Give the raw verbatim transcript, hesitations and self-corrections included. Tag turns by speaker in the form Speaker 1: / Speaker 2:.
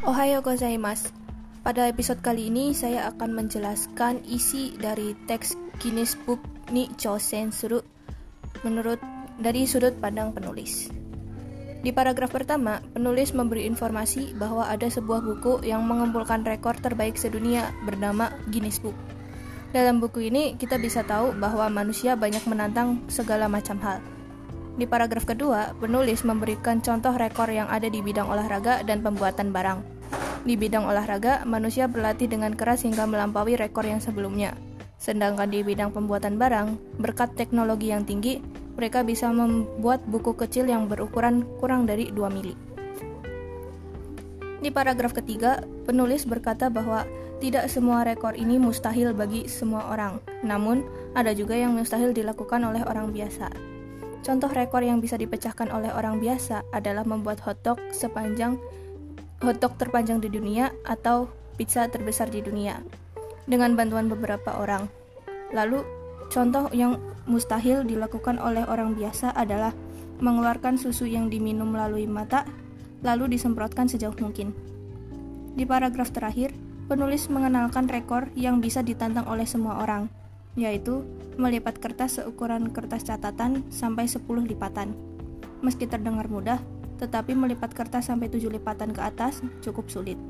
Speaker 1: Ohayo gozaimasu. Pada episode kali ini saya akan menjelaskan isi dari teks Guinness Book ni Chousen Suru menurut dari sudut pandang penulis. Di paragraf pertama, penulis memberi informasi bahwa ada sebuah buku yang mengumpulkan rekor terbaik sedunia bernama Guinness Book. Dalam buku ini kita bisa tahu bahwa manusia banyak menantang segala macam hal. Di paragraf kedua, penulis memberikan contoh rekor yang ada di bidang olahraga dan pembuatan barang. Di bidang olahraga, manusia berlatih dengan keras hingga melampaui rekor yang sebelumnya. Sedangkan di bidang pembuatan barang, berkat teknologi yang tinggi, mereka bisa membuat buku kecil yang berukuran kurang dari dua mili. Di paragraf ketiga, penulis berkata bahwa tidak semua rekor ini mustahil bagi semua orang, namun ada juga yang mustahil dilakukan oleh orang biasa. Contoh rekor yang bisa dipecahkan oleh orang biasa adalah membuat hotdog sepanjang hotdog terpanjang di dunia atau pizza terbesar di dunia dengan bantuan beberapa orang. Lalu, contoh yang mustahil dilakukan oleh orang biasa adalah mengeluarkan susu yang diminum melalui mata lalu disemprotkan sejauh mungkin. Di paragraf terakhir, penulis mengenalkan rekor yang bisa ditantang oleh semua orang, yaitu melipat kertas seukuran kertas catatan sampai sepuluh lipatan. Meski terdengar mudah, tetapi melipat kertas sampai tujuh lipatan ke atas cukup sulit.